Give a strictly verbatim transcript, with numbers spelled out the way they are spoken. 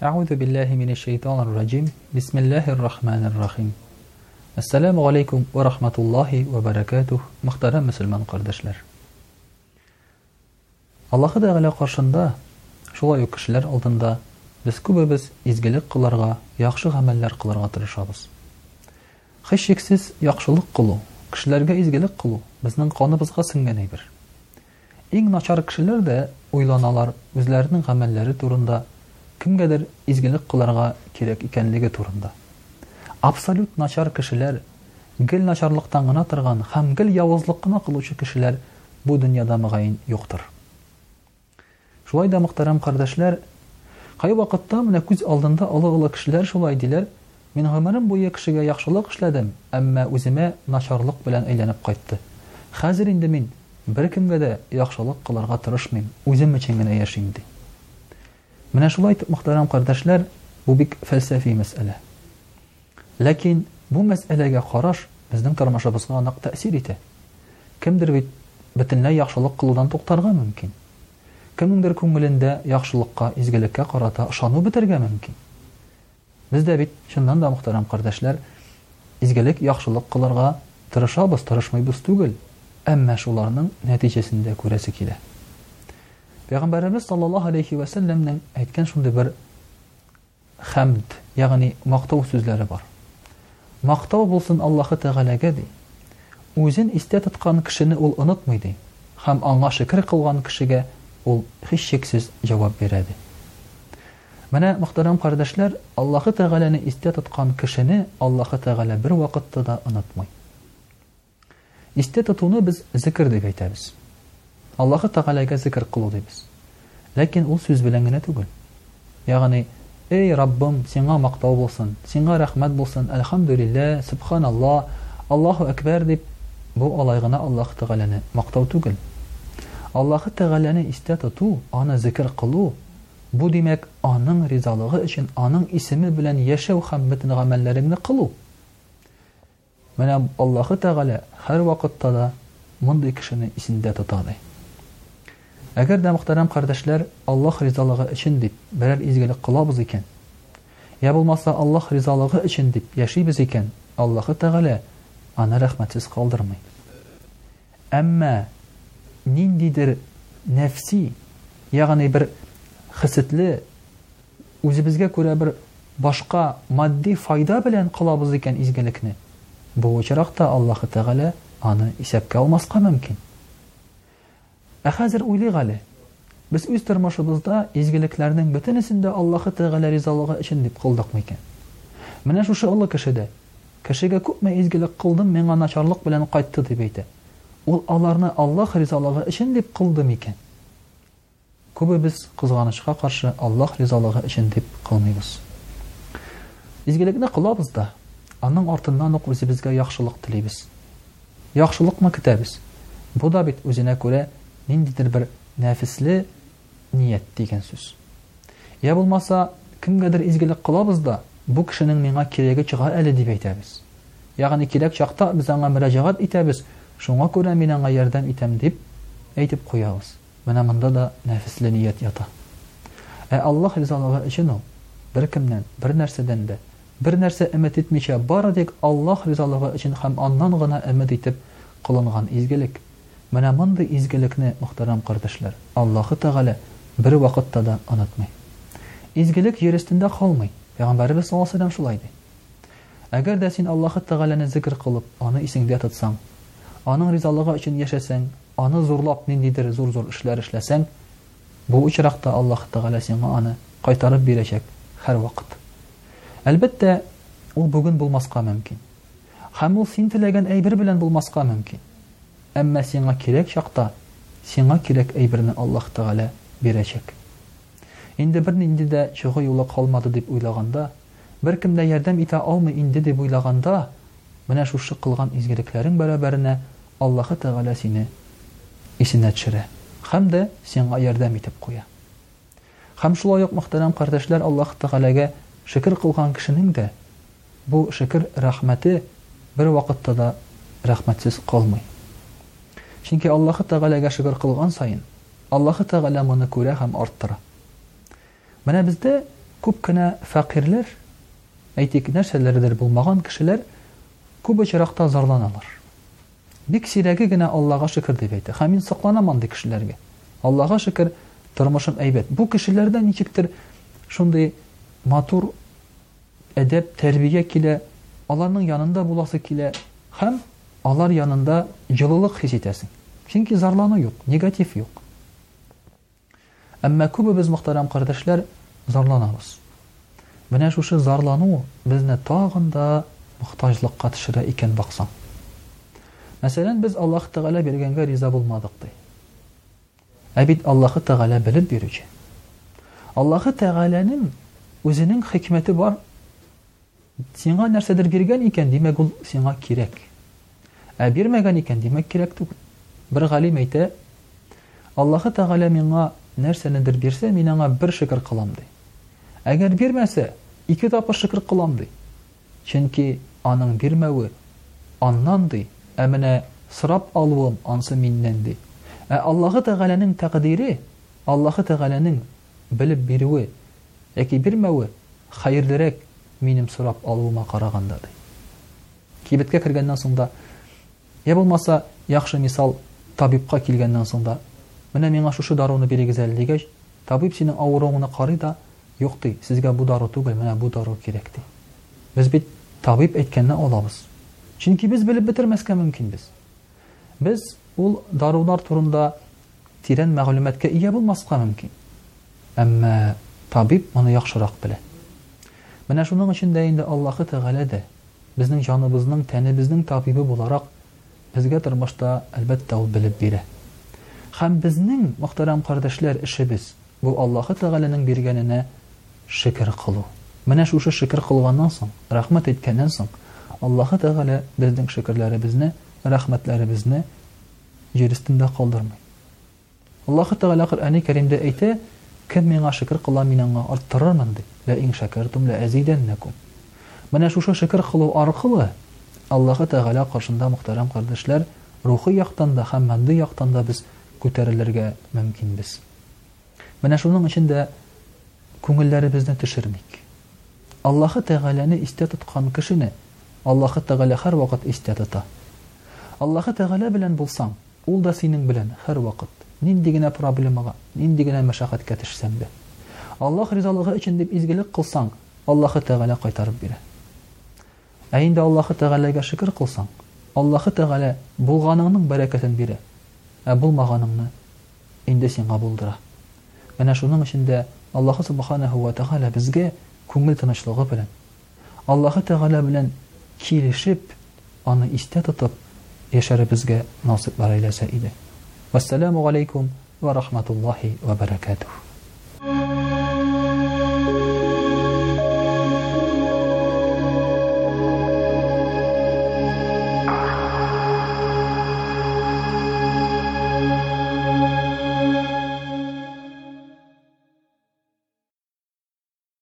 أعوذ بالله من الشيطان الرجيم بسم الله الرحمن الرحيم Assalamu alaikum wa rahmatullahi wa barakatuh. Muhtaram Müslüman kardeşler. Allah'ı Teala karşında, şulay uк kişiler алдында biz күбебез изгелек кыларга, яхшы гамәлләр кыларга тырышабыз. Һеч шиксез яхшылык кылу, кешеләргә изгелек кылу безнең каныбызга сеңгән әйбер. Иң начар кешеләр дә уйланалар үзләренең гамәлләре турында, кемгәдер изгелек кыларга кирәк икәнлеге турында. Абсолют начар кешеләр, гел начарлыктан гына торган һәм гел явызлык кына кылучы кешеләр бу дөньяда мөгаен юктыр. Шулай да мөхтәрәм кардәшләр, кай вакытта менә күз алдында олы-олы кешеләр шулай диләр: "Мин гомерем буе кешегә яхшылык эшләдем, әмма үземә начарлык белән әйләнеп кайтты. Хәзер инде мин бер кемгә дә яхшылык кыларга тырышмыйм, үзем өчен генә яшим" ди. Менә шулай мөхтәрәм кардәшләр, бу бик фәлсәфи мәсьәлә. Ләкин бу мәсьәләгә караш безнең тормышыбызга нык тәэсир итә. Кемдер бит бөтенләй яхшылык кылудан туктарга мөмкин. Кемнеңдер күңелендә яхшылыкка, изгелеккә карата ышану бетергә мөмкин. Бездә бит шуннан да мөхтәрәм кардәшләр, изгелек, яхшылык кыларга тырышабыз, тырышмыйбыз түгел, әмма шуларның нәтиҗәсендә күрәсе килә. Пәйгамбәрбез саллаллаһу алейхи ва сәлләмнең әйткән шундый бер хәмд, ягъни мактау сүзләре бар. Мактау булсын Аллаһы Тәгаләгә ди. Үзен истә тоткан кешене ул онытмый ди. Һәм аңа шөкр кылган кешегә ул һич шиксез җавап бирә ди. Менә мөхтәрәм кардәшләр, Аллаһы Тәгаләне истә тоткан кешене Аллаһы Тәгалә бер вакытта да онытмый. Истә тотуны без зикр дип әйтәбез. Аллаһы Тәгаләгә зикр кылу дибез. Ләкин ул сүз белән генә түгел. Ягъни "Эй Раббым, сиңа мактау булсын, сиңа рәхмәт булсын, әлхәмдүлилләh, субханаллаһ, Аллаһу әкбәр" дип, бу алай гына Аллаһы Тәгаләне мактау түгел. Аллаһы Тәгаләне истә тоту, аны зикр кылу, бу димәк, аның ризалыгы өчен, аның исеме белән яшәү һәм бөтен гамәлләреңне кылу. Менә Аллаһы Тәгалә һәр вакытта да мондый кешене исендә тота ди. Әгәр дә мөхтәрәм кардәшләр, Аллаһ ризалыгы өчен дип берәр изгелек кылабыз икән, я булмаса Аллаһ ризалыгы өчен дип яшибез икән, Аллаһы Тәгалә аны рәхмәтсез калдырмый. Әмма ниндидер нәфси, ягъни бер хисетле, үзебезгә күрә бер башка матди файда белән кылабыз икән изгелекне, бу очракта Аллаһы Тәгалә аны исәпкә алмаска мөмкин. Ә хәзер уйлыйк әле, без үз тормышыбызда изгелекләрнең бөтенесендә Аллаһы Тәгалә ризалыгы өчен дип кылдыкмы икән? Менә шушы олы кешедә, кешегә күпме изгелек кылдым, миңа начарлык белән кайтты дип әйтә. Ул аларны Аллаһ ризалыгы өчен дип кылды микән? Күбебез кызганычка каршы Аллаһ ризалыгы өчен дип кылмыйбыз. Изгелекне кылабыз да, аның артыннан ук үзебезгә яхшылык телибез. Яхшылыкны көтәбез. Бу да бит үзенә күрә ниндидер бер нәфисле ният дигән сүз. Я булмаса, кемгәдер изгелек кылабыз да, бу кешенең миңа кирәге чыга әле дип әйтәбез. Ягъни кирәк чакта без аңа мөрәҗәгать итәбез, шуңа күрә мин аңа ярдәм итәм дип әйтеп куябыз. Менә монда да нәфисле ният ята. Ә Аллаһ ризалыгы өчен ул бер кемнән, бер нәрсәдән дә, бер нәрсә өмет итмичә, бары тик Аллаһ ризалыгы өчен һәм аннан гына өмет итеп кылынган изгелек. Менә мондый изгелекне, мөхтәрәм кардәшләр, Аллаһы Тәгалә бер вакытта да онытмый. Изгелек җир өстендә калмый. Пәйгамбәрбез саллаллаһу алейһи ва сәлләм шулай ди. Әгәр дә син Аллаһы Тәгаләне зикр кылып, аны исеңдә тотсаң, аның ризалыгы өчен яшәсәң, аны зурлап ниндидер зур-зур эшләр эшләсәң, бу очракта Аллаһы Тәгалә сиңа аны кайтарып бирәчәк һәр вакыт. Әлбәттә, ул бүген булмаска мөмкин. Һәм ул син теләгән әйбер белән булмаска мөмкин. Әмма сиңа кирәк чакта, сиңа кирәк әйберне Аллаһ Тәгалә бирәчәк. Инде бер нинди дә чыгы юлы калмады дип уйлаганда, бер кем дә ярдәм итә алмый инде дип уйлаганда, менә шушы кылган изгелекләрең бәрабәренә Аллаһы Тәгалә сине исенә төшерә һәм дә сиңа ярдәм итеп куя. Һәм шулай ук мөхтәрәм кардәшләр, Аллаһы Тәгаләгә шөкр кылган кешенең дә бу шөкр рәхмәте бер вакытта да рәхмәтсез калмый. Чөнки Аллаһы Тәгаләгә шөкр кылган сайын, Аллаһы Тәгалә моны күрә һәм арттыра. Менә бездә күп кенә фәкыйрьләр, әйтик, нәрсәләрдер булмаган кешеләр күп очракта зарланалар. Бик сирәге генә Аллаһка шөкер дип әйтә. Һәм мин сакланам андый кешеләргә. Аллаһка шөкер, тормышым әйбәт. Бу кешеләрдә ничектер шундый матур әдәп, тәрбия килә, аларның янында буласы килә, һәм алар янында җылылык хис итәсең. Чөнки зарлану юк, негатив юк. Әмма күбебез, мөхтәрәм кардәшләр, зарланабыз. Менә шушы зарлану безне тагын да мохтаҗлыкка төшерә икән баксаң. Мәсәлән, без Аллаһ Тәгалә биргәнгә риза булмадык ди. Ә бит Аллаһ Тәгалә белеп бирүче. Аллаһ Тәгаләнең үзенең хикмәте бар. Сиңа нәрсәдер биргән икән, димәк ул сиңа кирәк. Ә бирмәгән икән, димәк кирәк түгел. Бер галим әйтә, Аллаһ Тәгалә миңа нәрсәнедер бирсә, мин аңа бер шөкер кылам ди. Әгәр бирмәсә, ике тапкыр шөкер кылам ди. Чөнки аның бирмәве аннан ди, ә менә сорап алуым ансы миннән ди. Ә Аллаһ Тәгаләнең тәкъдире, Аллаһ Тәгаләнең белеп бирүе яки бирмәве хәерлерәк минем сорап алуыма караганда ди. Кибеткә кергәннән соң да, я булмаса, яхшы мисал, табибка килгәннән соң да, менә миңа шушы даруны бирегез әле дигәч, табиб синең авыруыңны карый да, юк ди, сезгә бу дару түгел, менә бу дару кирәк ди. Без бит табиб әйткәнне алабыз. Чөнки без белеп бетермәскә мөмкин без. Без ул дарулар турында тирән мәгълүматкә ия булмаска мөмкин. Әмма табиб моны яхшырак белә. Менә шуның өчен дә инде Аллаһ Тәгалә дә безнең җаныбызның, тәнебезнең табибы буларак безгә тормышта әлбәттә ул белеп бирә. Һәм безнең, мөхтәрәм кардәшләр, эшебез бу Аллаһ Тәгаләнең биргәненә шөкер кылу. Менә шушы шөкер кылганнан соң, рәхмәт әйткәннән соң, Аллаһ Тәгалә безнең шөкерләребезне, рәхмәтләребезне җир өстендә калдырмый. Аллаһ Тәгалә Коръән-и Кәримдә әйтә, кем миңа шөкер кыла, мин аңа арттырырмын ди. Ла ин шакартум ла азиданнакум. Менә шушы шөкер кылу аркылы Аллаһ Тәгалә каршында, мөхтәрәм кардәшләр, рухи яктан да һәм матди яктан да без күтәрелергә мөмкинбез. Менә шуның өчен дә күңелләребезне төшермик. Аллаһ Тәгаләне истә тоткан кешене Аллаһ Тәгалә һәр вакыт истә тота. Аллаһ Тәгалә белән булсаң, ул да синең белән һәр вакыт. Нинди генә проблемага, нинди генә мәшәкатькә төшсәң дә. Аллаһ ризалыгы өчен дип изгелек кылсаң, Аллаһ Тәгалә кайтарып бирә. Ә инде Аллаһ Тәгаләгә шөкер кылсаң, Аллаһ Тәгалә булганыңның бәрәкәтен бирә. Ә булмаганыңны инде сиңа булдыра. Менә шуның өчен дә Аллаһ Субханаһу ва Тәгалә безгә күңел тынычлыгы белән, Аллаһ Тәгалә белән килешеп, аны истә тотып яшәребезгә насыйплар әйләсә иде. Вассаламу алейкум ва рахматуллахи ва баракатуһ.